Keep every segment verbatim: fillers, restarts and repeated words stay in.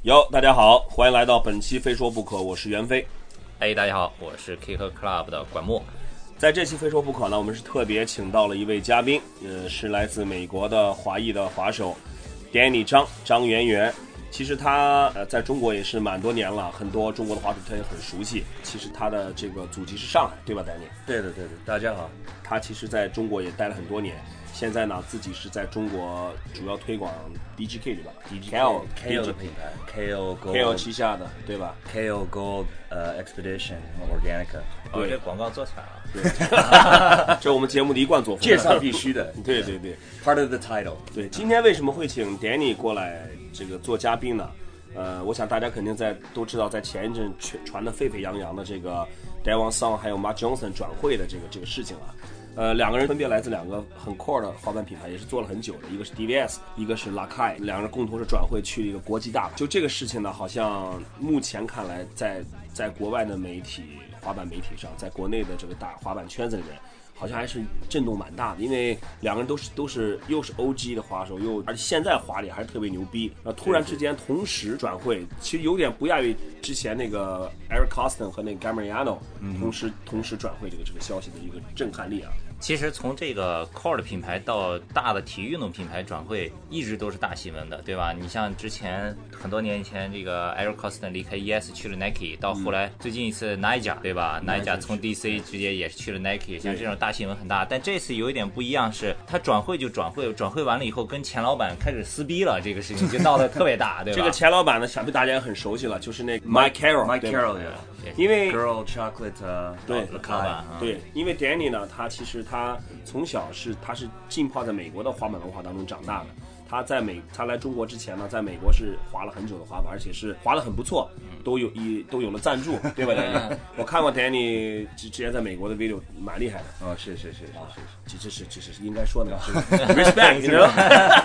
哟，大家好，欢迎来到本期非说不可，我是袁飞。 哎，大家好，我是 Kicker Club 的管墨。 在这期非说不可呢，我们是特别请到了一位嘉宾，呃，是来自美国的华裔的滑手 Danny 张张媛媛。其实他呃在中国也是蛮多年了，很多中国的滑手他也很熟悉。其实他的这个祖籍是上海，对吧 ，Danny？ 对的，对的，大家好。 他其实在中国也待了很多年，现在呢自己是在中国主要推广 D G K 对吧 ？D G K L K L 的品牌 ，K L Gold K L 旗下的对吧 ？K L Gold 呃、uh, Expedition Organica。 哦，这广告做起来了。 对，这是我们节目的一贯作风。 介绍必须的。 对对对 ，Part of the title。 对，今天为什么会请 Danny 过来这个做嘉宾呢？呃，我想大家肯定在都知道，在前一阵传的沸沸扬扬的这个 Daewon Song 还有 Mark Johnson 转会的这个这个事情啊。呃，两个人分别来自两个很 core 的滑板品牌，也是做了很久的，一个是 D V S， 一个是 Lakai， 两人共同是转会去了一个国际大牌。就这个事情呢，好像目前看来在，在国外的媒体滑板媒体上，在国内的这个大滑板圈子里面，好像还是震动蛮大的，因为两个人都是都是又是 O G 的滑手，又而且现在滑力还是特别牛逼，然后突然之间同时转会，其实有点不亚于之前那个 Eric Costin 和那个 Gamariano 同时、嗯、同时转会这个这个消息的一个震撼力啊。 其实从这个 core 的品牌到大的体育运动品牌转会，一直都是大新闻的，对吧？你像之前很多年以前，这个 Eric Costin 离开 E S 去了 Nike， 到后来最近一次 Nyjah， 对吧 ？Nyjah 从 D C 直接也是去了 Nike， 像这种大新闻很大。但这次有一点不一样是，他转会就转会，转会完了以后跟钱老板开始撕逼了，这个事情就闹得特别大，对吧？ 这个钱老板呢，想必大家也很熟悉了，就是那个 Mike Carroll，Mike Carroll， 因为 Girl Chocolate 啊， 对， 老板， 对，因为 Danny 呢，他其实他从小是他是浸泡在美国的滑板文化当中长大的。他在美他来中国之前呢，在美国是滑了很久的滑板，而且是滑得很不错，都有一都有了赞助，对吧 ？Danny， 我看过 Danny 之之前在美国的 video， 蛮厉害的。 哦，是是是是是，这是这是应该说的 ，respect， 你知道。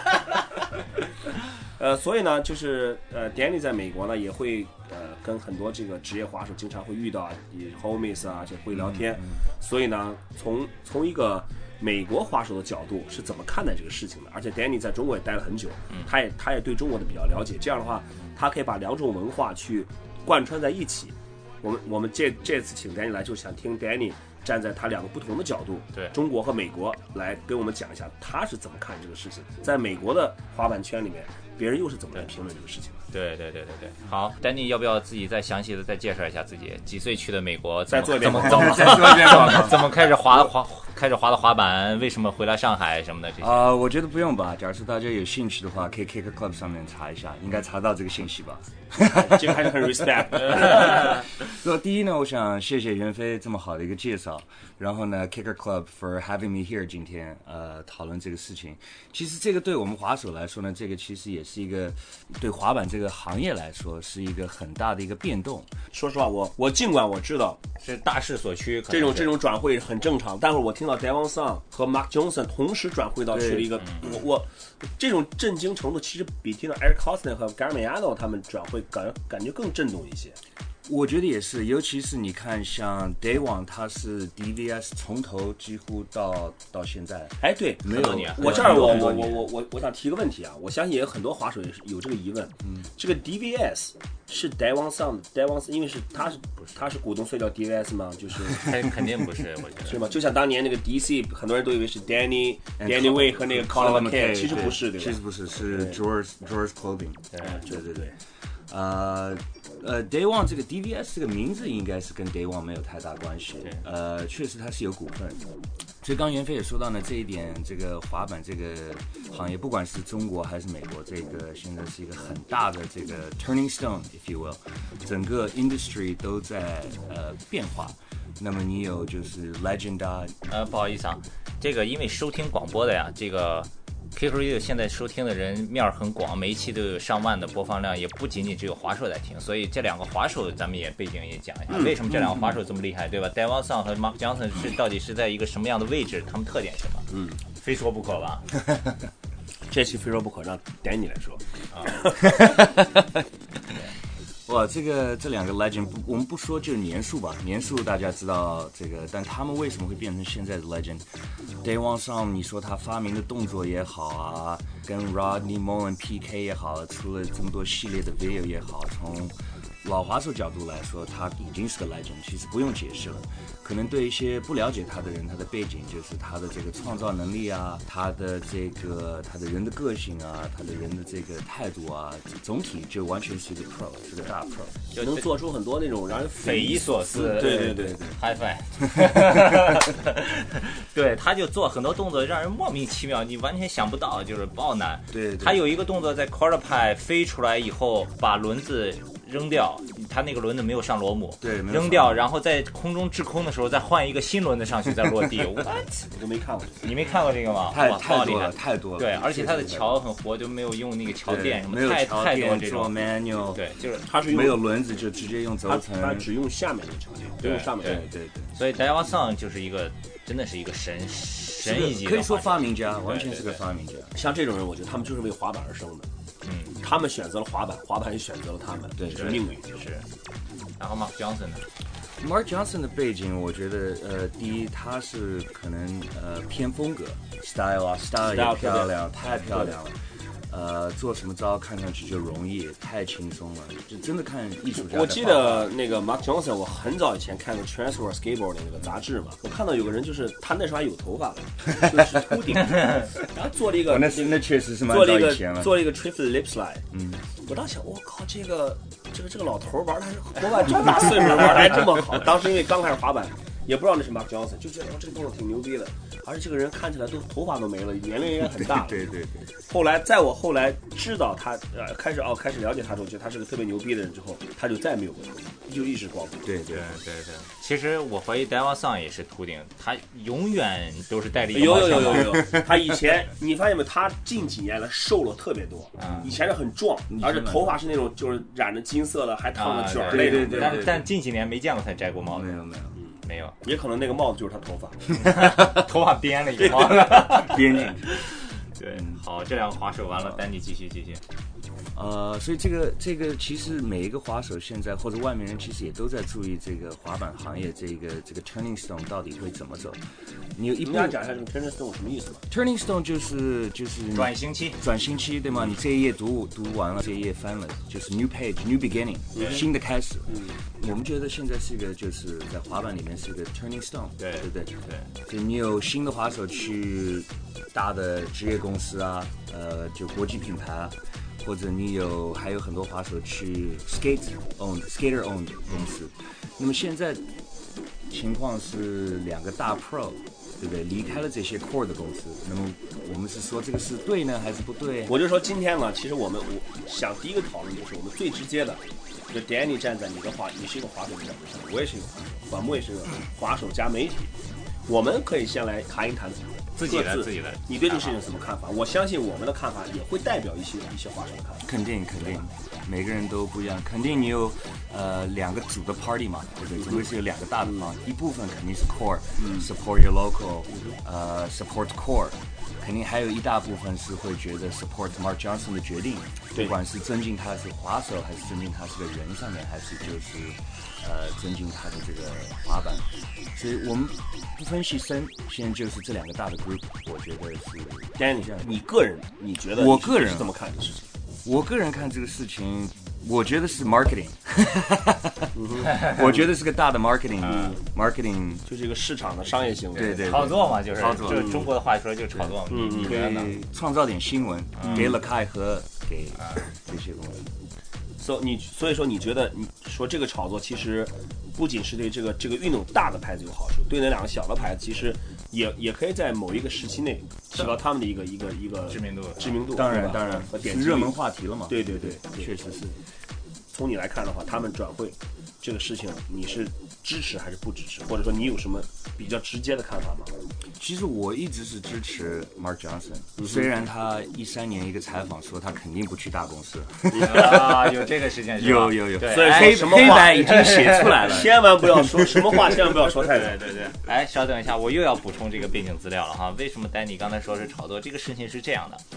呃，所以呢，就是呃 ，Danny 在美国呢也会呃跟很多这个职业滑手经常会遇到啊 ，homies 啊，这会聊天。嗯嗯、所以呢，从从一个美国滑手的角度是怎么看待这个事情的？而且 Danny 在中国也待了很久，他也他也对中国的比较了解。这样的话，他可以把两种文化去贯穿在一起。我们我们这这次请 Danny 来，就想听 Danny 站在他两个不同的角度， 对中国和美国来跟我们讲一下他是怎么看这个事情。在美国的滑板圈里面，别人又是怎么来评论这个事情的？ 对对对对对。好 ，Danny 要不要自己再详细的再介绍一下自己？几岁去的美国？ 再做一遍怎么怎么再做一遍广告？怎么开始滑滑开始滑的滑板？为什么回来上海什么的这些？ 啊、呃，我觉得不用吧。假如说大家有兴趣的话，可以 Kicker Club 上面查一下，应该查到这个信息吧。 这个还是很 respect。 所以第一呢，我想谢谢袁飞这么好的一个介绍，然后呢 ，Kicker Club for having me here 今天呃讨论这个事情。其实这个对我们滑手来说呢，这个其实也是一个对滑板这个行业来说是一个很大的一个变动。 说实话，我我尽管我知道是大势所趋， 这种这种转会很正常，但是我听到 Daewon Song 和 Mark Johnson 同时转会到去了一个，我我这种震惊程度其实比听到 Eric Costin 和 Gamariano 他们转会感感觉更震动一些。 我觉得也是，尤其是你看，像 Daewon 他是 D V S 从头几乎到到现在， 哎，对， 没有年。 我这儿我我我我我我想提个问题啊，我相信也有很多滑手也是有这个疑问，嗯，这个 D V S 是 Daewon Song Daewon， 因为是他是他是股东，所以叫 D V S 吗？就是肯定不是，我觉得是吗？就像当年那个 D C， 很多人都以为是 Danny Danny Way 和那个 Colin McKay， 其实不是，对吧？ 其实不是，是 George George Clothing， 对对对对。 呃呃 ，Daewon 这个 D V S 这个名字应该是跟 Daewon 没有太大关系。呃，确实它是有股份。所以刚袁飞也说到呢，这一点，这个滑板这个行业，不管是中国还是美国，这个现在是一个很大的这个 turning stone，if you will， 整个 industry 都在呃变化。那么你有就是 legend 啊， 呃，不好意思啊，这个因为收听广播的呀，这个。Kicker Radio 现在收听的人面很广，每一期都有上万的播放量，也不仅仅只有滑手在听，所以这两个滑手咱们也背景也讲一下，嗯、为什么这两个滑手这么厉害，对吧 ？Daewon Song 和 Mark Johnson 是到底是在一个什么样的位置？他们特点是什么？ 嗯， 非说不可吧？ 这期非说不可，让Danny来说。 啊哇，这个这两个 legend， 不我们不说就是年数吧，年数大家知道这个，但他们为什么会变成现在的 legend？Daewon Song， 你说他发明的动作也好啊，跟 Rodney Mullen P K 也好，出了这么多系列的 video 也好，从老滑手角度来说，他已经是个 legend， 其实不用解释了。可能对一些不了解他的人，他的背景就是他的这个创造能力啊，他的这个他的人的个性啊，他的人的这个态度啊，总体就完全是一个 pro， 是个大 pro， 就能做出很多那种让人匪夷所思。 对对对对 ，high five。对，他就做很多动作，让人莫名其妙，你完全想不到，就是爆难。 对， 他有一个动作在 quarter pipe 飞出来以后，把轮子扔掉，他那个轮子没有上螺母， 对， 扔掉，然后在空中滞空的时候再换一个新轮子上去，再落地。What？ 我都没看过， 你没看过这个吗？ 太太多了，太多了。 对，而且他的桥很活，就没有用那个桥垫什么， 没有太太多这种 manual， 对，就是他是没有轮子就直接用轴承， 他只用下面的桥垫，不用上面。 对对对。 所以 Daewon Song 就是一个真的是一个神神一级的， 可以说发明家，完全是个发明家。 像这种人，我觉得他们就是为滑板而生的。 嗯， 他们选择了滑板，滑板也选择了他们， 对， 是命运。 是。然后 Mark Johnson 呢 ？Mark Johnson 的背景，我觉得，呃，第一，他是可能呃偏风格 ，style 啊 ，style 也漂亮，太漂亮了。呃，做什么招看上去就容易，太轻松了，就真的看艺术家。 我记得那个 Mark Johnson， 我很早以前看过 Transworld Skateboard 的那个杂志嘛，我看到有个人就是他那时候还有头发的，就是秃顶，然后做了一个， 那那确实是蛮早以前了， 做了一个 triple lip slide， 嗯， 我当时想，我靠，这个这个这个老头玩的还是活板这么大岁数了玩的还这么好，当时因为刚开始滑板。也不知道那是 Mark Johnson， 就觉得哦这个动作挺牛逼的，而且这个人看起来都头发都没了，年龄也很大了。 对对 对, 对。 后来在我后来知道他呃开始哦开始了解他之后，觉得他是个特别牛逼的人之后，他就再也没有过头发，就一直光头。 对对对对。其实我怀疑 Daewon Song 也是秃顶，他永远都是戴着一个有有有有有。他以前你发现没有？他近几年来瘦了特别多， 嗯、 以前是很壮，而且头发是那种就是染着金色的，还烫着卷儿、 啊、对对 对, 对, 对。 但但近几年没见过他摘过帽子。 没有没有。 没有， 也可能那个帽子就是他头发， 头发编了一个帽子， 编进去。 对，好，这两个滑手完了，丹尼继续继续。 呃，所以这个这个其实每一个滑手现在或者外面人其实也都在注意这个滑板行业这个这个 turning stone 到底会怎么走。你有一你要讲一下这个 turning stone 什么意思吗 ？turning stone 就是就是转型期， 转型期对吗？你这一页读读完了，这一页翻了，就是 new page new beginning，、嗯、新的开始。 嗯， 我们觉得现在是一个就是在滑板里面是一个 turning stone， 对对不对？ 对， 就你有新的滑手去大的职业公司啊，呃，就国际品牌啊。或者你有还有很多滑手去 skate owned skater owned 公司，那么现在情况是两个大 pro， 对不对？离开了这些 core 的公司，那么我们是说这个是对呢还是不对？ 我就说今天呢，其实我们我想第一个讨论就是我们最直接的，就 Danny 站在你的滑，你是一个滑手的角度上，我也是一个滑手，管木也是个滑手加媒体，我们可以先来谈一谈。 自己的自己的， 你对这个事情有什么看法？我相信我们的看法也会代表一些一些滑手的看法。 肯定肯定，每个人都不一样。肯定你有呃两个主的 party 嘛，对不对？总归是有两个大的 party，、嗯、一部分肯定是 core，support、嗯、your local， 呃 support core， 肯定还有一大部分是会觉得 support Mark Johnson 的决定，不管是尊敬他是滑手，还是尊敬他是个人上面，还是就是呃尊敬他的这个滑板。所以我们不分析深，现在就是这两个大的 group， 我觉得是 Danny， 你个人你觉得我个人是怎么看这个事情？ 我个人看这个事情，我觉得是 marketing， 我觉得是个大的 marketing， 嗯、 marketing 就是一个市场的商业行为， 对 对, 对， 炒作嘛，就是炒作， 就中国的话说就炒作嘛， 嗯， 你觉得呢？ 创造点新闻， 嗯、 给了开和给这些东西。 所以你所以说你觉得你说这个炒作其实不仅是对这个这个运动大的牌子有好处，对那两个小的牌子其实也也可以在某一个时期内提高他们的一个一个一个知名度知名度。 当然当然， 和点热门话题了嘛。 对对对， 对确实是。 从你来看的话，他们转会这个事情，你是支持还是不支持？或者说你有什么比较直接的看法吗？ 其实我一直是支持 Mark Johnson，、嗯、虽然他一三年一个采访说他肯定不去大公司啊，有这个事情是吧？ 有有有， 所以黑什么黑白已经写出来了， 千万不要说什么话，千万不要说太对对对。哎，稍等一下，我又要补充这个背景资料了哈。为什么丹尼刚才说是炒作？这个事情是这样的。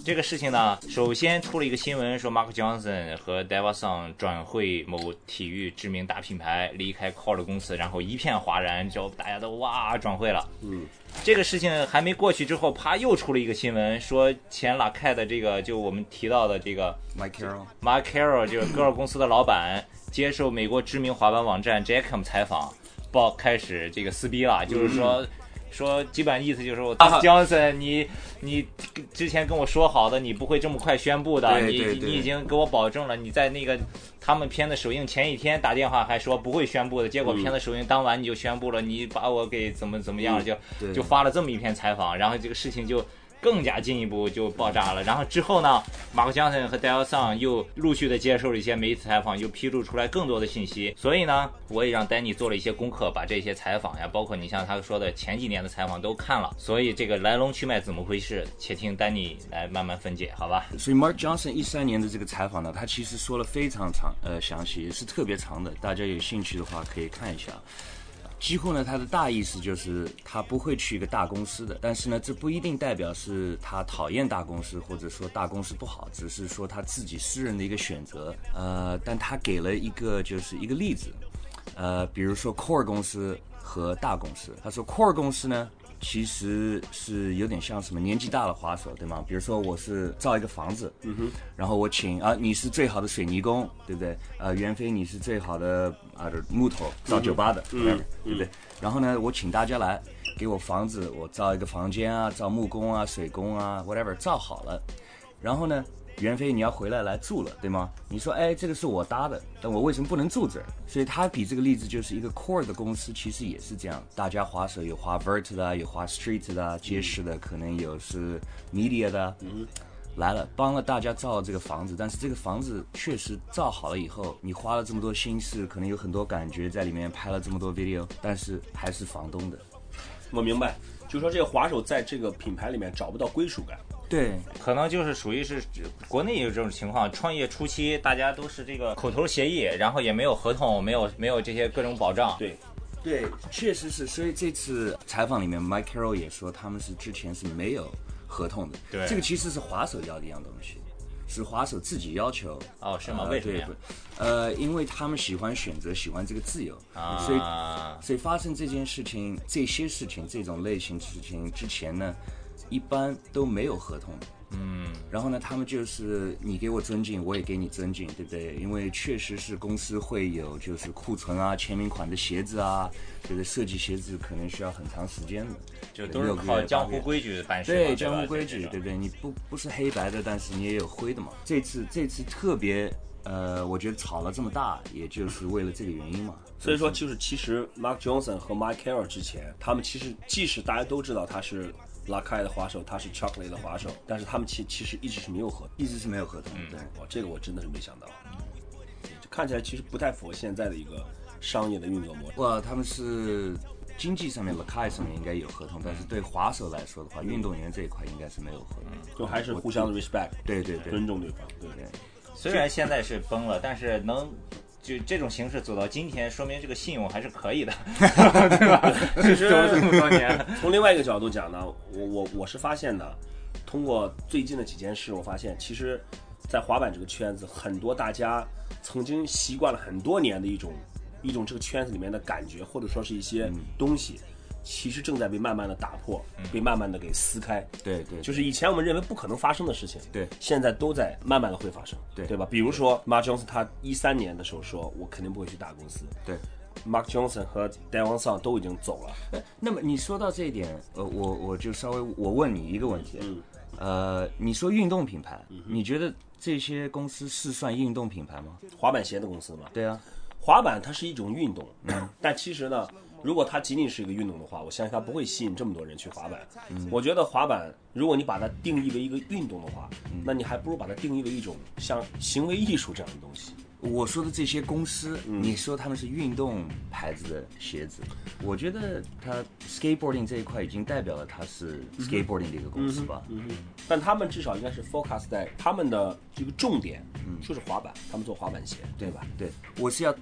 这个事情呢，首先出了一个新闻说 Mark Johnson 和 Deva Song 转会某体育知名大品牌，离开 Core 公司，然后一片哗然，就大家都哇转会了。 嗯， 这个事情还没过去之后，啪又出了一个新闻，说前拉开的这个就我们提到的这个 Mike Carroll Mike Carroll 就是戈尔公司的老板，接受美国知名滑板网站 Jackham 采访，报开始这个撕逼了，就是说。嗯说基本意思就是说 Johnson 你你之前跟我说好的你不会这么快宣布的， 对对对你你已经给我保证了，你在那个他们片子首映前一天打电话还说不会宣布的，结果片子首映当晚你就宣布了，你把我给怎么怎么样了，就就发了这么一篇采访，然后这个事情就更加进一步就爆炸了。然后之后呢，马克江森和戴尔桑又陆续的接受了一些媒体采访，又披露出来更多的信息。所以呢，我也让丹尼做了一些功课，把这些采访呀，包括你像他说的前几年的采访都看了。所以这个来龙去脉怎么回事，且听丹尼来慢慢分解，好吧？ 所以 Mark Johnson 一三年的这个采访呢，他其实说了非常长，呃，详细，也是特别长的，大家有兴趣的话可以看一下。几乎呢，他的大意思就是他不会去一个大公司的，但是呢，这不一定代表是他讨厌大公司，或者说大公司不好，只是说他自己私人的一个选择。呃，但他给了一个就是一个例子，呃，比如说 Core 公司和大公司，他说 Core 公司呢，其实是有点像什么年纪大的滑手，对吗？比如说我是造一个房子，嗯哼，然后我请啊，你是最好的水泥工，对不对？呃，袁飞你是最好的啊木头造酒吧的，嗯，对不对？然后呢，我请大家来给我房子，我造一个房间啊，造木工啊、水工啊 ，whatever， 造好了，然后呢？袁飞，你要回来来住了，对吗？你说，哎，这个是我搭的，但我为什么不能住这儿？所以他比这个例子就是一个 core 的公司，其实也是这样。大家滑手有滑 vert 的，有滑 street 的，街市的，可能有是 media 的，嗯，来了，帮了大家造了这个房子，但是这个房子确实造好了以后，你花了这么多心思，可能有很多感觉在里面，拍了这么多 video， 但是还是房东的。 我明白，就是说这个滑手在这个品牌里面找不到归属感。 对， 可能就是属于是国内有这种情况，创业初期大家都是这个口头协议，然后也没有合同，没有没有这些各种保障。 对， 对，确实是。所以这次采访里面 ，Mike Carroll 也说他们是之前是没有合同的。 对， 这个其实是滑手要的一样东西，是滑手自己要求。 哦，是吗？ 呃、 为什么呀？ 呃，因为他们喜欢选择，喜欢这个自由， 啊、 所以所以发生这件事情、这些事情、这种类型事情之前呢，一般都没有合同的。嗯，然后呢，他们就是你给我尊敬，我也给你尊敬，对不对？因为确实是公司会有就是库存啊、签名款的鞋子啊，对不对？设计鞋子可能需要很长时间的， 就都是靠江湖规矩办事。 对，江湖规矩，对不对？你不不是黑白的，但是你也有灰的嘛。这次这次特别，呃，我觉得吵了这么大，也就是为了这个原因嘛。 所以说，就是其实 Mark Johnson 和 Mike Carroll 之前，他们其实即使大家都知道他是拉开的滑手，他是 Chocolate 的滑手，但是他们其其实一直是没有合同， 一直是没有合同。 嗯，对，哇，这个我真的是没想到，嗯，看起来其实不太符合现在的一个商业的运作模式。 哇，他们是经济上面 Lakai 上面应该有合同，但是对滑手来说的话，运动员这一块应该是没有合同， 就还是互相的 respect， 对对对， 尊重对方，对对。 虽然现在是崩了，但是能。就这种形式走到今天，说明这个信用还是可以的，对吧？其实走了这么多年， 从另外一个角度讲呢，我我我是发现的，通过最近的几件事，我发现其实，在滑板这个圈子，很多大家曾经习惯了很多年的一种一种这个圈子里面的感觉，或者说是一些东西。嗯，其实正在被慢慢的打破，被慢慢的给撕开。 对对， 就是以前我们认为不可能发生的事情， 对， 现在都在慢慢的会发生， 对对吧？比如说 Mark Johnson 他一三年的时候说，我肯定不会去大公司。 对 ，Mark Johnson 和 Deva Song 都已经走了。 那么你说到这一点，呃，我我就稍微我问你一个问题，嗯，呃，你说运动品牌，嗯，你觉得这些公司是算运动品牌吗？ 滑板鞋的公司吗？ 对啊， 滑板它是一种运动，嗯，但其实呢。如果它仅仅是一个运动的话，我相信它不会吸引这么多人去滑板。嗯，我觉得滑板，如果你把它定义为一个运动的话，嗯，那你还不如把它定义为一种像行为艺术这样的东西。 我说的这些公司，嗯，你说他们是运动牌子的鞋子，我觉得它 skateboarding 这一块已经代表了它是 skateboarding 的一个公司吧。 嗯哼，嗯哼，但他们至少应该是 focus 在他们的这个重点，嗯，就是滑板，他们做滑板鞋，对吧？ 对，我是要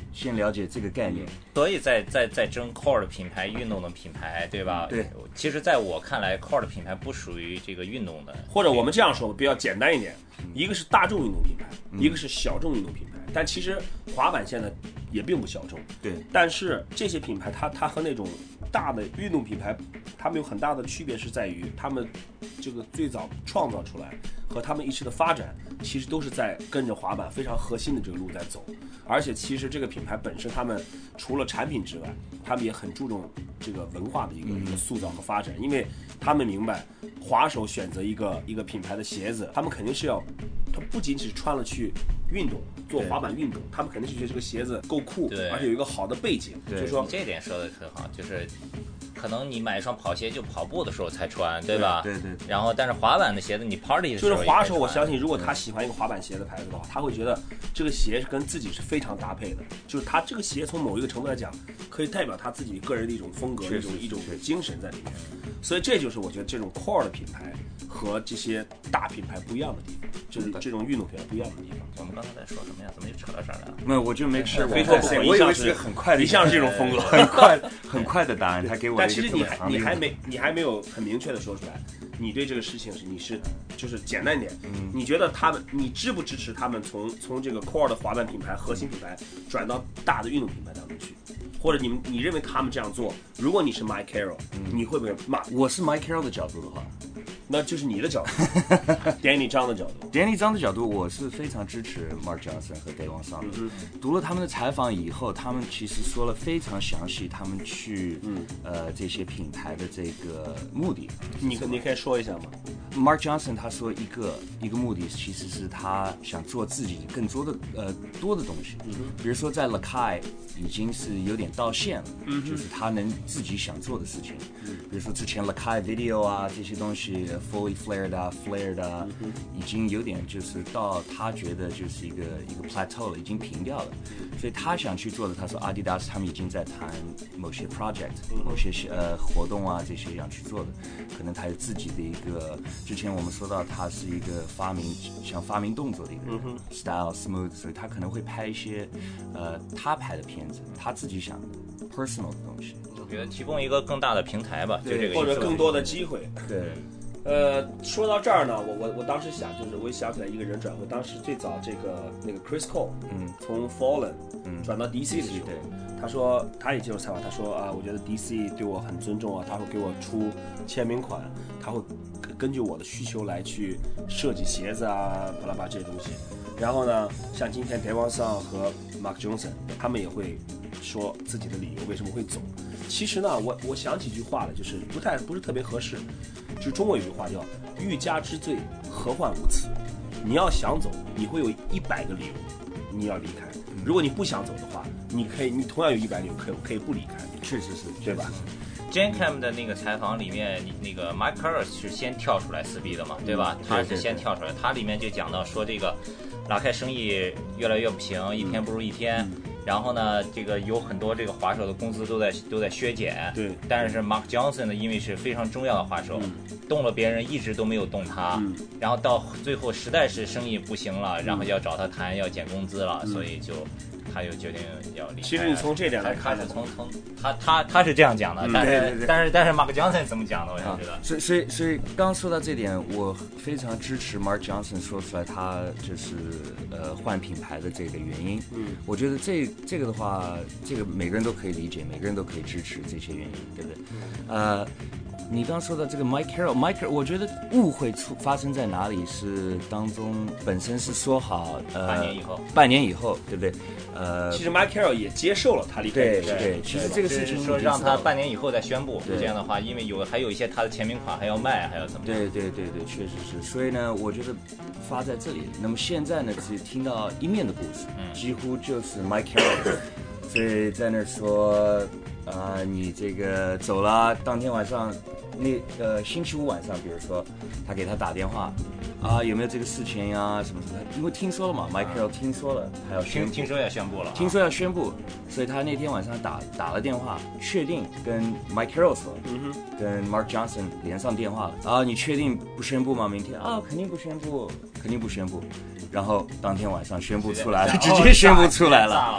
先了解这个概念。 所以在在在争 core 的品牌、运动的品牌，对吧？ 对。 其实，在我看来 ，core 的品牌不属于这个运动的。 或者我们这样说比较简单一点，一个是大众运动品牌，一个是小众运动品牌。但其实滑板现在也并不小众。 对。 但是这些品牌它它和那种大的运动品牌，它们有很大的区别，是在于他们这个最早创造出来和他们一直的发展，其实都是在跟着滑板非常核心的这个路在走。而且其实这个品牌本身，他们除了产品之外，他们也很注重这个文化的一个一个塑造和发展，因为他们明白滑手选择一个一个品牌的鞋子，他们肯定是要，他不仅仅是穿了去运动做滑板运动，他们肯定是觉得这个鞋子够酷，而且有一个好的背景。就是说这点说的很好，就是可能你买一双跑鞋就跑步的时候才穿，对吧？ 对 对, 对。 然后，但是滑板的鞋子你 party 的时候就是滑手，我相信如果他喜欢一个滑板鞋的牌子的话，他会觉得这个鞋跟自己是非常搭配的。就是他这个鞋从某一个程度来讲，可以代表他自己个人的一种风格、一种一种精神在里面。所以这就是我觉得这种 core 的品牌和这些大品牌不一样的地方，就是这种运动品牌不一样的地方。 我们刚才在说什么呀？怎么就扯到这儿来了？ 没有，我就没吃。 非说不可， 我以为是很快的， 一向是这种风格， 很快很快的答案。他给我， 但其实你还你还没你还没有很明确的说出来，你对这个事情是你是就是简单一点，嗯，你觉得他们你支不支持他们从从这个 core 的滑板品牌核心品牌转到大的运动品牌当中去？或者你们你认为他们这样做，如果你是 Mike Carroll，嗯，你会不会骂？ 我是 Mike Carroll 的角度的话， 那就是你的角度，Danny 张的角度。 Danny 张的角度，我是非常支持 Mark Johnson 和 Daewon Song。嗯，读了他们的采访以后，他们其实说了非常详细，他们去嗯呃这些品牌的这个目的。 你你可以说一下吗 ？Mark Johnson 他说一个一个目的其实是他想做自己更多的呃多的东西，嗯，比如说在 Lakai 已经是有点到线了，嗯，就是他能自己想做的事情，嗯，比如说之前 Lakai Video 啊这些东西 fully flared 啊 flared 啊，嗯，已经有点就是到他觉得就是一个一个 plateau 了，已经平掉了，所以他想去做的，他说 Adidas 他们已经在谈某些 project，嗯，某些呃活动啊这些想去做的，可能他有自己的一个，之前我们说到他是一个发明想发明动作的一个人，嗯，style smooth， 所以他可能会拍一些呃他拍的片子，他自己想的 personal 的东西， 我觉得提供一个更大的平台吧，就这个或者更多的机会。 对， 呃，说到这儿呢，我我我当时想，就是我也想起来一个人转会，当时最早这个那个 Chris Cole，嗯，从 Fallen，嗯，转到 D C 的时候，对，他说他也接受采访，他说啊，我觉得 D C 对我很尊重啊，他会给我出签名款，他会根据我的需求来去设计鞋子啊，巴拉巴这些东西。然后呢，像今天 Daewon Song 和 Mark Johnson， 他们也会说自己的理由为什么会走。其实呢，我我想起一句话了，就是不太不是特别合适。就是中国有句话叫“欲加之罪，何患无辞”。你要想走，你会有一百个理由，你要离开。如果你不想走的话，你可以，你同样有一百理由可以可以不离开。 确实是， 对吧 ？Jan Cam 的那个采访里面，那个 Mike Carroll 是先跳出来撕逼的嘛，对吧？嗯，他是先跳出来，他里面就讲到说这个拉开生意越来越不行，一天不如一天。嗯，然后呢，这个有很多这个滑手的工资都在都在削减。 对。 但是 Mark Johnson 呢，因为是非常重要的滑手，嗯，动了别人一直都没有动他。嗯。然后到最后实在是生意不行了，然后要找他谈要减工资了，嗯，所以就他就决定要离开。 其实你从这点来看， 他是从从他他他是这样讲的，嗯，但是对对对但是但是 Mark Johnson 怎么讲的？我想知道。 啊，所以所以所以刚说到这点，我非常支持 Mark Johnson 说出来他就是呃换品牌的这个原因。嗯，我觉得这这个的话，这个每个人都可以理解，每个人都可以支持这些原因，对不对？呃。你刚说到这个 Mike Carroll，Mike Carroll， 我觉得误会出发生在哪里是当中本身是说好呃半年以后， 半年以后，对不对？呃， 其实 Mike Carroll 也接受了他离开。 对对，其实这个事情说让他半年以后再宣布，这样的话，因为有还有一些他的签名款还要卖，还要怎么？ 对对对对，确实是。所以呢，我觉得发在这里。那么现在呢，只听到一面的故事，嗯，几乎就是 Mike Carroll， 所以在那说啊，你这个走了，当天晚上。那呃星期五晚上，比如说他给他打电话啊，有没有这个事情呀？什么什么？因为听说了嘛 ，Mike Carroll 听说了，他要宣听听说要宣布了， 听说要宣布，所以他那天晚上打打了电话，确定跟 Mike Carroll 说，嗯哼，跟 Mark Johnson 连上电话了啊，你确定不宣布吗？明天啊，肯定不宣布，肯定不宣布。然后当天晚上宣布出来了，直接宣布出来了。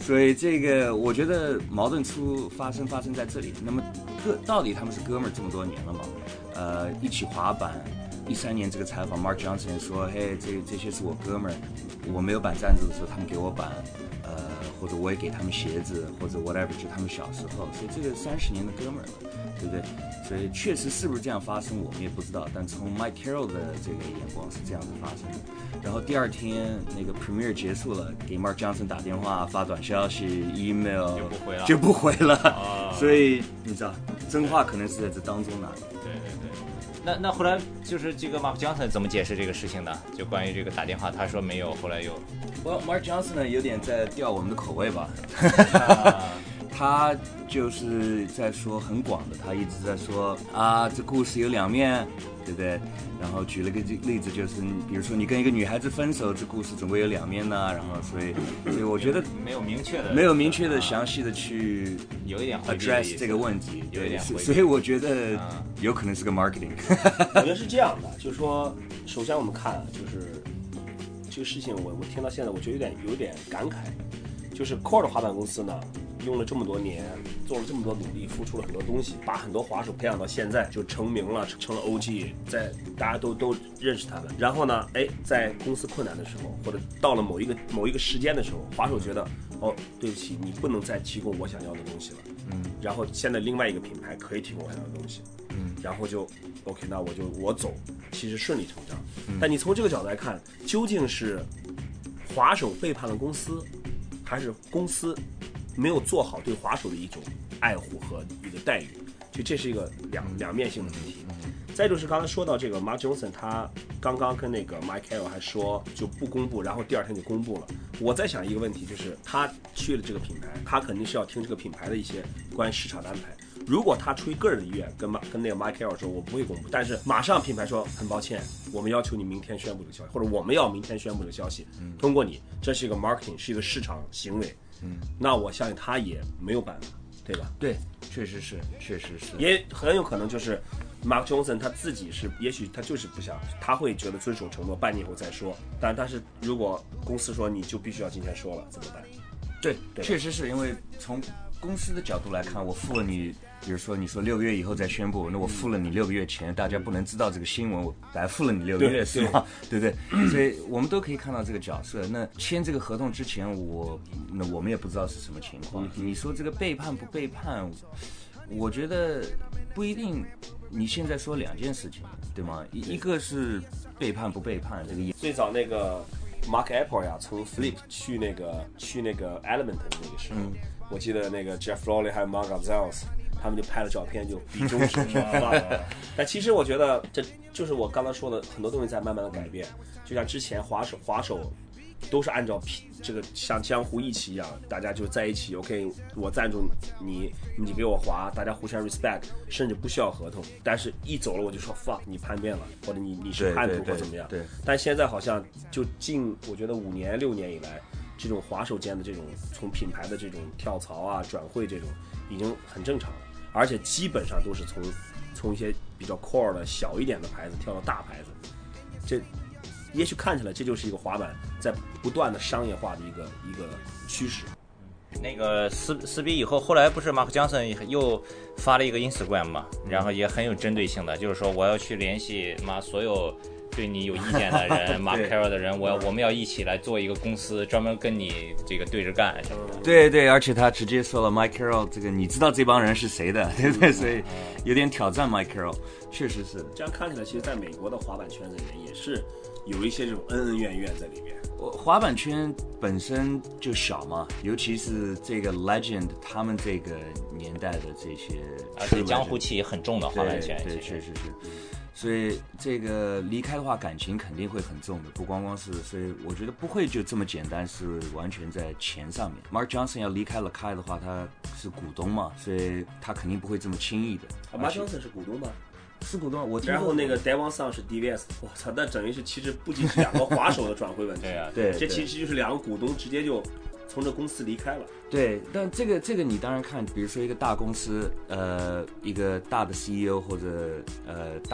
所以这个我觉得矛盾出发生发生在这里。那么哥到底他们是哥们儿这么多年了嘛？呃，一起滑板。一三年这个采访 ，Mark Johnson 说：“嘿，这这些是我哥们儿，我没有板赞助的时候，他们给我板，呃，或者我也给他们鞋子，或者 whatever， 就他们小时候，所以这个三十年的哥们儿了，对不对？所以确实是不是这样发生，我们也不知道。但从 Mike Carroll 的这个眼光是这样子发生的。然后第二天那个 Premiere 结束了，给 Mark Johnson 打电话、发短消息、email 就不回了， 就不回了。 哦、 所以你知道，真话可能是在这当中呢。 对对对。”那那后来就是这个 Mark Johnson 怎么解释这个事情呢？就关于这个打电话，他说没有，后来又 ，Well Mark Johnson 呢有点在吊我们的口味吧， 啊、 他就是在说很广的，他一直在说啊，这故事有两面，对不对？然后举了个例子，就是比如说你跟一个女孩子分手，这故事总归有两面呢。然后所以，所以我觉得没有明确的， 没有明确的、详细的去有一点 address 这个问题， 有一点回避， 所以我觉得有可能是个 marketing。 我觉得是这样的，就是说，首先我们看，就是这个事情我，我我听到现在，我觉得有点有点感慨，就是 Core 的滑板公司呢，用了这么多年，做了这么多努力，付出了很多东西，把很多滑手培养到现在就成名了，成了 O G， 在大家都都认识他们。然后呢，哎，在公司困难的时候，或者到了某一个某一个时间的时候，滑手觉得，哦，对不起，你不能再提供我想要的东西了。嗯。然后现在另外一个品牌可以提供我想要的东西。嗯。然后就 OK， 那我就我走，其实顺理成章。嗯。但你从这个角度来看，究竟是滑手背叛了公司，还是公司没有做好对滑手的一种爱护和一个待遇？就这是一个两两面性的问题。再就是刚才说到这个 Mark Johnson， 他刚刚跟那个 Mike Carroll 还说就不公布，然后第二天就公布了。我在想一个问题，就是他去了这个品牌，他肯定是要听这个品牌的一些关于市场的安排。如果他出于个人的意愿跟跟那个 Mike Carroll 说，我不会公布，但是马上品牌说很抱歉，我们要求你明天宣布这个消息，或者我们要明天宣布这个消息，通过你，这是一个 marketing， 是一个市场行为。嗯，那我相信他也没有办法，对吧？ 对，确实是，确实是， 也很有可能就是 Mark Johnson 他自己是，也许他就是不想，他会觉得遵守承诺，半年以后再说。但但是如果公司说你就必须要今天说了，怎么办？ 对，对，确实是因为从公司的角度来看，我付了你，比如说你说六个月以后再宣布，那我付了你六个月钱，大家不能知道这个新闻，我白付了你六个月，是吗？对不对？所以我们都可以看到这个角色。那签这个合同之前，我那我们也不知道是什么情况。你说这个背叛不背叛？我觉得不一定。你现在说两件事情，对吗？一一个是背叛不背叛这个意思。 最早那个 Mark Apple 呀，从 Flip 去那个去那个 Element 的那个时候。嗯，我记得那个 Jeff Rowley 还有 Mark Gonzalez， 他们就拍了照片，就比中指是吧？但其实我觉得这就是我刚才说的，很多东西在慢慢的改变。就像之前滑手滑手都是按照这个像江湖义气一样，大家就在一起 ，OK， 我赞助你，你给我滑，大家互相 respect， 甚至不需要合同。但是一走了我就说 fuck， 你叛变了，或者你你是叛徒或怎么样。 对对对对。 但现在好像就近我觉得五年六年以来。这种滑手间的这种从品牌的这种跳槽啊转会这种已经很正常了，而且基本上都是从从一些比较 core 的小一点的牌子跳到大牌子，这也许看起来这就是一个滑板在不断的商业化的一个一个趋势。 那个撕撕逼以后，后来不是 Mark Johnson 又发了一个 Instagram 嘛，然后也很有针对性的，就是说我要去联系妈所有对你有意见的人，Mark Carroll 的人，我要我们要一起来做一个公司，专门跟你这个对着干什么的。 对对，而且他直接说了 Mike Carroll 这个，你知道这帮人是谁的，对不对？所以有点挑战 Mike Carroll， 确实是。 这样看起来，其实在美国的滑板圈子里面也是有一些这种恩恩怨怨在里面。 滑板圈本身就小嘛，尤其是这个 Legend 他们这个年代的这些， 而且江湖气也很重的滑板圈， 对，确实是。所以这个离开的话，感情肯定会很重的，不光光是，所以我觉得不会就这么简单，是完全在钱上面。Mark Johnson 要离开了开的话，他是股东嘛，所以他肯定不会这么轻易的。 啊 Mark Johnson 是股东吗？ 是股东，我然后那个 Devon Song 是 D V S， 我操，那等于是其实不仅是两个滑手的转会问题， 对啊， 对， 这其实就是两个股东直接就从这公司离开了。 对，但这个这个你当然看，比如说一个大公司，呃，一个大的 C E O 或者呃大的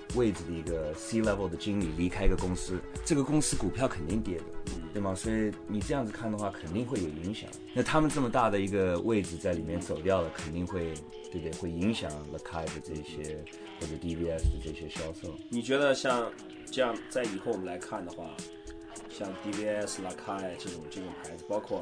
位置的一个 C level 的经理离开一个公司，这个公司股票肯定跌的，对吗？所以你这样子看的话，肯定会有影响。那他们这么大的一个位置在里面走掉了，肯定会，对不对？会影响 Lakai 的这些或者 D V S 的这些销售。 你觉得像这样，在以后我们来看的话，像 D V S、Lakai 这种这种牌子，包括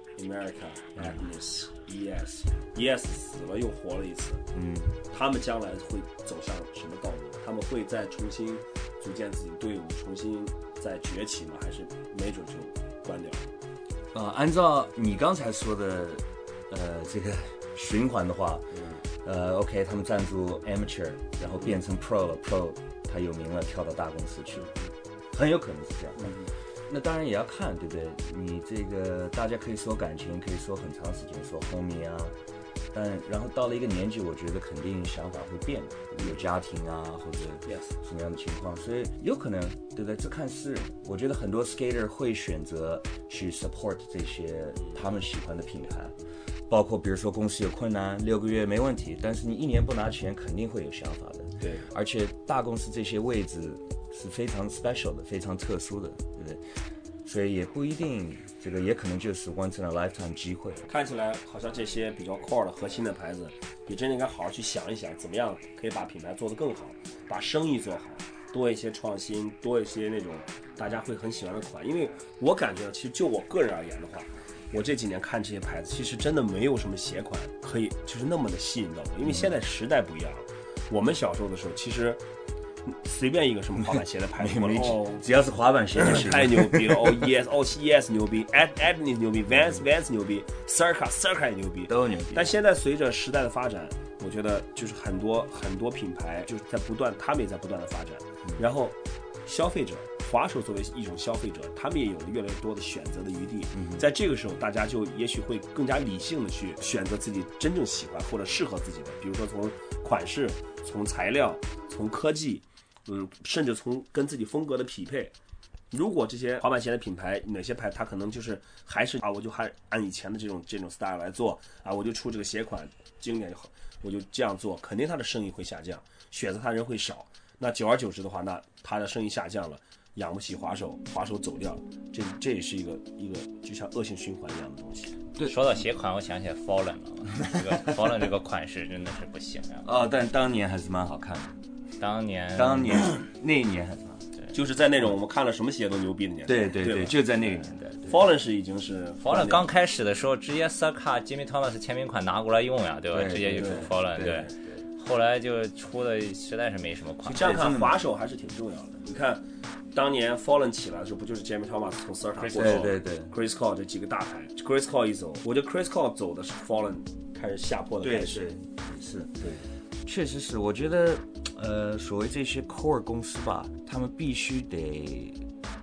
America、Agnes、E S、E S 死了又活了一次， 嗯，他们将来会走向什么道路？他们会再重新组建自己队伍，重新再崛起吗？还是没准就关掉？ 呃，按照你刚才说的，呃，这个循环的话，嗯、呃 ，OK， 他们赞助 Amateur， 然后变成 Pro 了 ，Pro 他有名了，跳到大公司去了，很有可能是这样的。嗯，那当然也要看，对不对？你这个大家可以说感情，可以说很长时间，说 homie 啊，但然后到了一个年纪，我觉得肯定想法会变，有家庭啊，或者什么样的情况，所以有可能，对不对？这看是人。我觉得很多 skater 会选择去 support 这些他们喜欢的品牌，包括比如说公司有困难，六个月没问题，但是你一年不拿钱，肯定会有想法的。 对， 而且大公司这些位置是非常 special 的，非常特殊的，对不对？所以也不一定，这个也可能就是 once in a lifetime 机会。 看起来好像这些比较 core 的核心的牌子，你真的应该好好去想一想，怎么样可以把品牌做得更好，把生意做好，多一些创新，多一些那种大家会很喜欢的款。因为我感觉，其实就我个人而言的话，我这几年看这些牌子，其实真的没有什么鞋款可以就是那么的吸引到我，因为现在时代不一样了。我们小时候的时候，其实随便一个什么滑板鞋的牌子， 哦，只要是滑板鞋就行， 太牛逼了！哦 ，E S， 哦 ，E S 牛逼 ，Ad Adnis 牛逼 ，Vans Vans 牛逼 ，Circa Circa 也牛逼， 都牛逼。 但现在随着时代的发展，我觉得就是很多很多品牌就是在不断，他们也在不断的发展，嗯、然后消费者。滑手作为一种消费者，他们也有了越来越多的选择的余地。嗯、在这个时候，大家就也许会更加理性的去选择自己真正喜欢或者适合自己的，比如说从款式、从材料、从科技，嗯，甚至从跟自己风格的匹配。如果这些滑板鞋的品牌，哪些牌它可能就是还是啊，我就还按以前的这种这种 style 来做啊，我就出这个鞋款经典，我就这样做，肯定它的生意会下降，选择它人会少。那久而久之的话，那它的生意下降了。养不起滑手，滑手走掉，这这也是一个一个就像恶性循环一样的东西。 对，说到鞋款，我想起来 Fallen 了，这个 Fallen 这个款式真的是不行呀。 哦，但当年还是蛮好看的。 当年， 当年那一年还是蛮对，就是在那种我们看了什么鞋都牛逼的年代。 对对 对, 对，就在那个年代。 Fallen 是已经是 Fallen 刚开始的时候，直接 Circa Jimmy Thomas 签名款拿过来用呀，对吧？ 对直接就出 Fallen， 对。对后来就出的实在是没什么款。 这样看，滑手还是挺重要的。你看，当年 Fallen 起来的时候，不就是 Jamie Thomas 从 Circa 过后，对对对 ，Chris Cole 这几个大牌 ，Chris Cole 一走，我觉得 Chris Cole 走的是 Fallen 开始下坡的开始。 对对，是，对，确实是。我觉得，呃，所谓这些 core 公司吧，他们必须得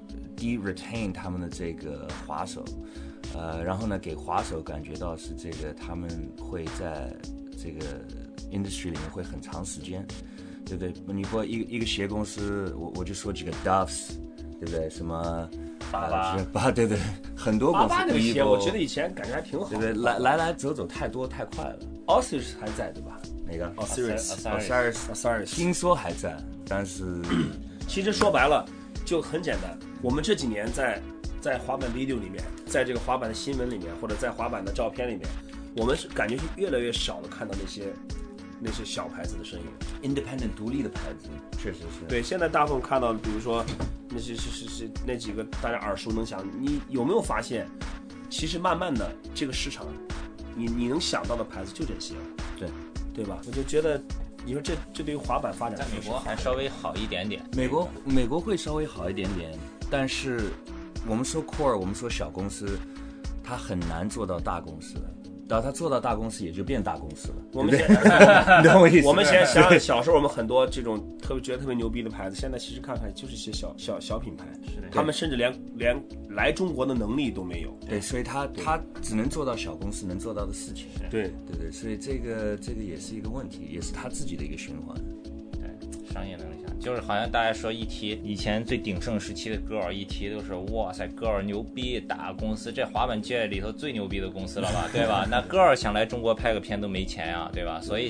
de retain 他们的这个滑手，呃，然后呢，给滑手感觉到是这个他们会在这个 industry 里面会很长时间，对不对？你说一个一个鞋公司，我我就说几个 Duffs， 对不对？什么八八八，对对，很多公司。 八八那个鞋，我觉得以前感觉还挺好， 对不对？来来来走走太多太快了。 Osiris 还在对吧？ 哪个 ？Osiris，Osiris，Osiris， 听说还在，但是其实说白了就很简单。我们这几年在在滑板 video 里面，在这个滑板的新闻里面，或者在滑板的照片里面，我们是感觉是越来越少的看到那些。那些小牌子的身影 ，independent 独立的牌子，确实是。 对，现在大部分看到的，比如说那些是是是那几个大家耳熟能详，你有没有发现，其实慢慢的这个市场，你你能想到的牌子就这些了， 对对吧？我就觉得，你说这这对于滑板发展， 在美国还稍微好一点点。 美国美国会稍微好一点点，但是我们说 core， 我们说小公司，它很难做到大公司的。然后他做到大公司也就变大公司了。 我们现你懂我意思？ 我们先想想小时候我们很多这种特别觉得特别牛逼的牌子，现在其实看看就是一些小小小品牌，他们甚至连连来中国的能力都没有。 对，所以他他只能做到小公司能做到的事情。 对对对，所以这个这个也是一个问题，也是他自己的一个循环。 对，商业能力强，就是好像大家说一提以前最鼎盛时期的 Girl， 一提都是哇塞 Girl 牛逼，大公司，这滑板界里头最牛逼的公司了吧，对吧？那 Girl 想来中国拍个片都没钱啊，对吧？所以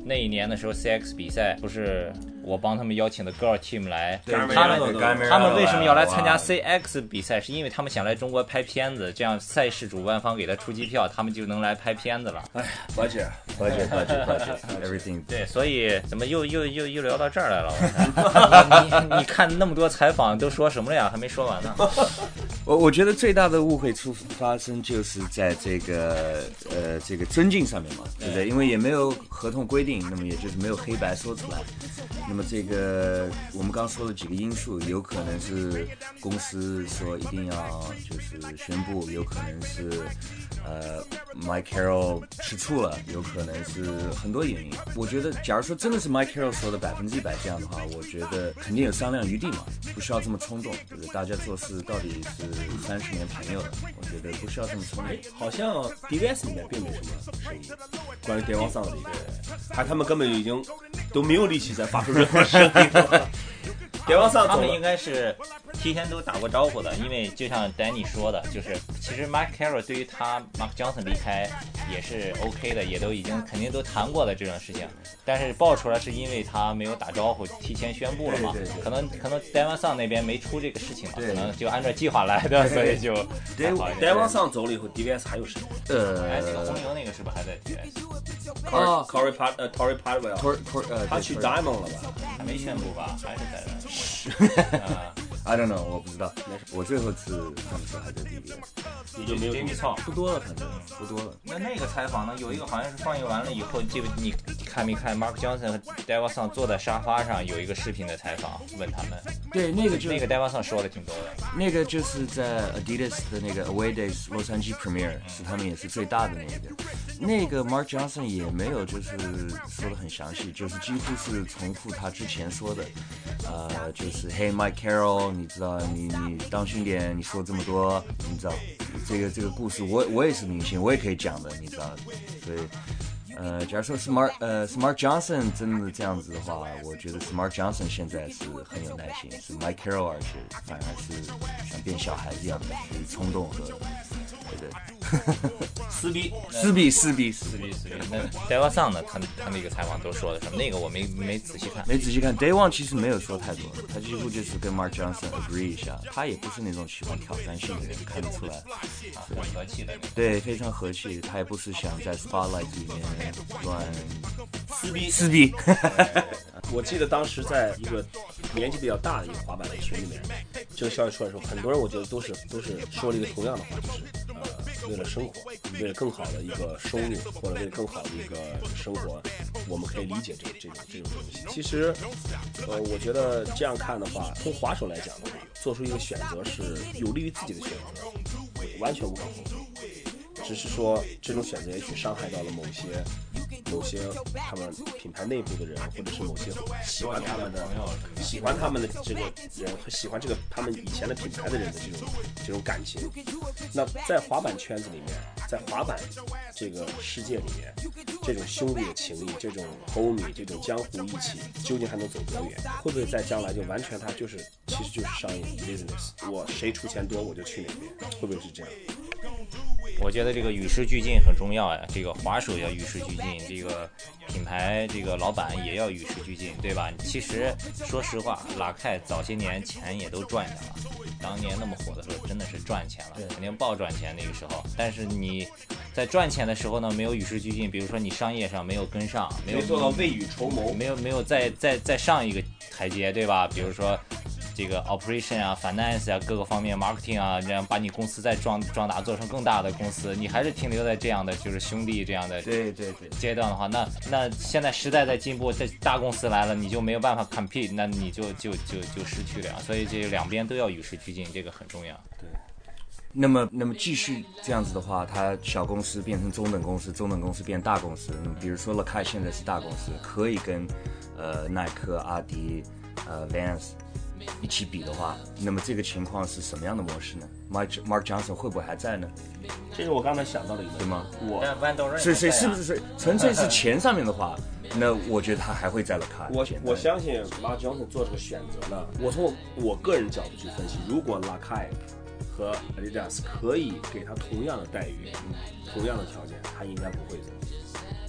那一年的时候 C X 比赛不是我帮他们邀请的 Girl Team 来， 对他们对他们为什么要来参加 C X 比赛？是因为他们想来中国拍片子，这样赛事主办方给他出机票，他们就能来拍片子了。 哎 ，budget budget budget budget everything。 对，所以怎么又又又又聊到这儿来了？我你你看那么多采访都说什么了呀？还没说完呢。 我我觉得最大的误会出发生就是在这个呃这个尊敬上面嘛，对不对？因为也没有合同规定，那么也就是没有黑白说出来。那么这个我们刚说了几个因素，有可能是公司说一定要就是宣布，有可能是呃 Mike Carroll 吃醋了，有可能是很多原因。我觉得假如说真的是 Mike Carroll 说的百分之一百这样的话，我觉得肯定有商量余地嘛，不需要这么冲动，对不对？大家做事到底是三十年朋友的，我觉得不需要这么冲动。 好像 D V S 里面并没什么声音，关于电王丧的一个，还他们根本就已经都没有力气再发出任何声音了。电王丧他们应该是提前都打过招呼的，因为就像 Danny 说的，就是其实 Mike Carroll 对于他 Mark Johnson 离开也是 OK 的，也都已经肯定都谈过的这种事情，但是爆出来是因为他没有打招呼，提前宣布了嘛， 对对对可能可能 Devon Song 那边没出这个事情嘛， 对可能就按照计划来的，所以就还好一点。 电王丧走了以后 ，D V S 还有谁？ 哎，这个呃红牛那个是不是还在 D V S？ 哦 Corey Pat 呃 Torrey Padwell， ，Tor Tor 呃， 他去 Diamond 了吧？ 还没宣布吧？还是在这？是啊。 I don't know， 我不知道，我最后次他们说还在 D V S， 你就没有 Jamie Chow 不多了，反正不多了。 那那个采访呢，有一个好像是放映完了以后，记不你看没看 Mark Johnson 和 Devon Song 坐在沙发上有一个视频的采访，问他们。 对，那个就那个 Devon Song 说的挺多的。 那个就是在 Adidas 的那个 Away Days 洛杉矶 Premiere， 是他们也是最大的那个。那个 Mark Johnson 也没有就是说的很详细，就是几乎是重复他之前说的，呃，就是 Hey Mike Carroll， 你知道你你当心点，你说这么多，你知道这个这个故事我我也是明星，我也可以讲的，你知道，所以。呃，假如说 Smart 呃 Smart Johnson 真的这样子的话，我觉得 Smart Johnson 现在是很有耐心，是 Mike Carroll 而是反而是像变小孩一样的，是冲动和对对撕逼撕逼撕逼撕逼撕逼。那 Devon Song 呢？他他那个采访都说的什么？那个我没没仔细看， 没仔细看。Day One 其实没有说太多，他几乎就是跟 Mark Johnson agree 一下，他也不是那种喜欢挑战性的人，看得出来， 啊，很和气的。 对，非常和气，他也不是想在 Spotlight 里面乱撕逼撕逼。 我记得当时在一个年纪比较大的一个滑板的群里面，这个消息出来的时候，很多人我觉得都是都是说了一个同样的话，就是呃，为了生活，为了更好的一个收入，或者为了更好的一个生活，我们可以理解这这种这种东西。其实，呃，我觉得这样看的话，从滑手来讲的话，做出一个选择是有利于自己的选择，完全无可厚非。只是说这种选择也许伤害到了某些某些他们品牌内部的人，或者是某些喜欢他们的喜欢他们的这个人和喜欢这个他们以前的品牌的人的这种这种感情。那在滑板圈子里面，在滑板这个世界里面，这种兄弟的情谊，这种 homie， 这种江湖义气，究竟还能走多远？会不会在将来就完全它就是其实就是商业 business， 我谁出钱多我就去哪边？会不会是这样？ 我觉得这个与时俱进很重要呀，这个滑手要与时俱进，这个品牌这个老板也要与时俱进，对吧？其实说实话，拉开早些年钱也都赚下了，当年那么火的时候真的是赚钱了，肯定爆赚钱那个时候。但是你在赚钱的时候呢，没有与时俱进，比如说你商业上没有跟上，没有做到未雨绸缪， 没有没有再再再上一个台阶，对吧？比如说这个 operation 啊 finance 啊各个方面 marketing 啊，这样把你公司再壮壮大，做成更大的公司，你还是停留在这样的就是兄弟这样的对对对阶段的话，那那现在时代在进步，这大公司来了，你就没有办法 compete， 那你就就就就失去了呀。所以这两边都要与时俱进，这个很重要。 对。那么，那么继续这样子的话，它小公司变成中等公司，中等公司变大公司。那么比如说 Lakai 现在是大公司，可以跟呃耐克、阿迪、呃 Vans 一起比的话，那么这个情况是什么样的模式呢 ？Mark Mark Johnson 会不会还在呢？ 这是我刚才想到的一个， 对吗？ 我是是是不是是纯粹是钱上面的话，那我觉得他还会在 Lakai。 我我相信 Mark Johnson 做这个选择呢，我从我个人角度去分析，如果 Lakai 和 Adidas 可以给他同样的待遇、同样的条件，他应该不会走。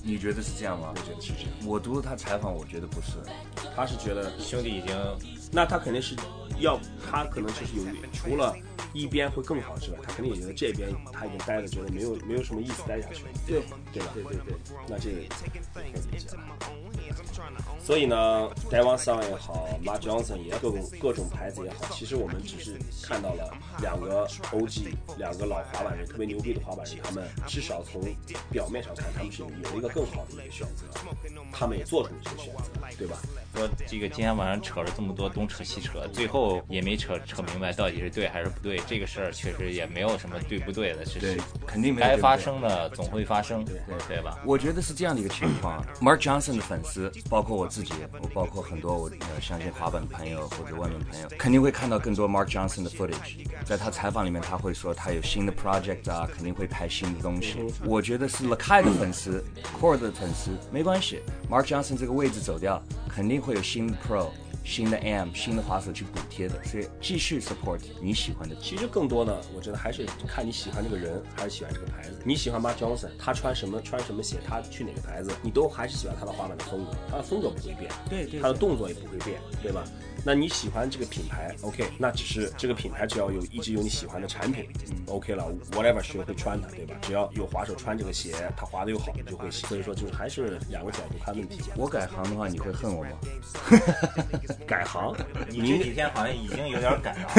你觉得是这样吗？ 我觉得是这样。 我读了他采访，我觉得不是， 他是觉得兄弟已经， 那他肯定是要，他可能就是有除了一边会更好之外，他肯定也觉得这边他已经待着，觉得没有没有什么意思待下去了， 对对吧？ 对对对， 那这个可以理解了。所以呢 ，Daewon Song 也好 ，Mark Johnson 也各种各种牌子也好，其实我们只是看到了两个 O G， 两个老滑板人，特别牛逼的滑板人，他们至少从表面上看，他们是有了一个更好的一个选择，他们也做出了这个选择，对吧？ 说这个今天晚上扯了这么多东扯西扯，最后也没扯扯明白到底是对还是不对。这个事儿确实也没有什么对不对的，只是肯定没有该发生的总会发生，对对吧？ 我觉得是这样的一个情况 ，Mark Johnson 的粉丝，包括我自己，我包括很多我呃相信滑板朋友或者外面朋友，肯定会看到更多 Mark Johnson 的 footage。在他采访里面，他会说他有新的 project 啊，肯定会拍新的东西。我觉得是 Lakai 的粉丝 ，Core 的粉丝没关系 ，Mark Johnson 这个位置走掉，肯定会有新的 Pro。新的 A M 新的滑手去补贴的，所以继续 support 你喜欢的。 其实更多的，我觉得还是看你喜欢这个人，还是喜欢这个牌子。你喜欢 Mark Johnson， 他穿什么穿什么鞋，他去哪个牌子，你都还是喜欢他的滑板的风格，他的风格不会变， 对 对, 对， 他的动作也不会变，对吧？那你喜欢这个品牌 ，OK， 那只是这个品牌只要有一直有你喜欢的产品、嗯、，OK 了 ，whatever 谁会穿它，对吧？只要有滑手穿这个鞋，他滑的又好，你就会喜。所以说就是还是两个角度看问题。 我改行的话，你会恨我吗？ 改行？ 你这几天好像已经有点改了。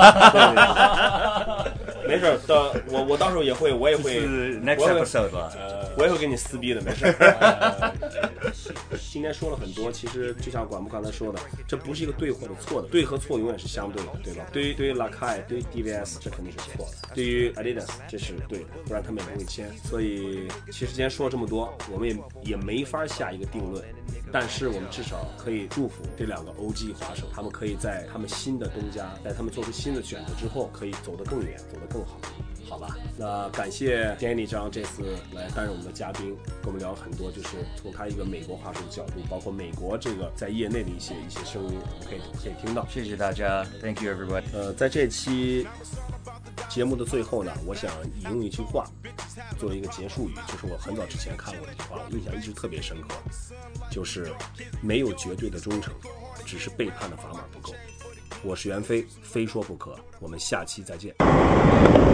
没事，到我我到时候也会，我也会 next episode 吧。 呃，我也会跟你撕逼的，没事。呃、今天说了很多，其实就像管木刚才说的，这不是一个对或者错的，对和错永远是相对的，对吧？对于对于 Lakai， 对于 D V S， 这肯定是错的；对于 Adidas， 这是对的，不然他们也不会签。所以其实今天说了这么多，我们也也没法下一个定论，但是我们至少可以祝福这两个 O G 滑手，他们可以在他们新的东家，在他们做出新的选择之后，可以走得更远，走得更好。好吧，那感谢 Danny 张这次来担任我们的嘉宾，跟我们聊了很多，就是从他一个美国滑手的角度，包括美国这个在业内的一些一些声音，我们可以可以听到。 谢谢大家 ，Thank you everybody。 呃，在这期节目的最后呢，我想引用一句话作为一个结束语，就是我很早之前看过的一句话，我印象一直特别深刻，就是没有绝对的忠诚，只是背叛的砝码不够。我是袁飞，非说不可，我们下期再见。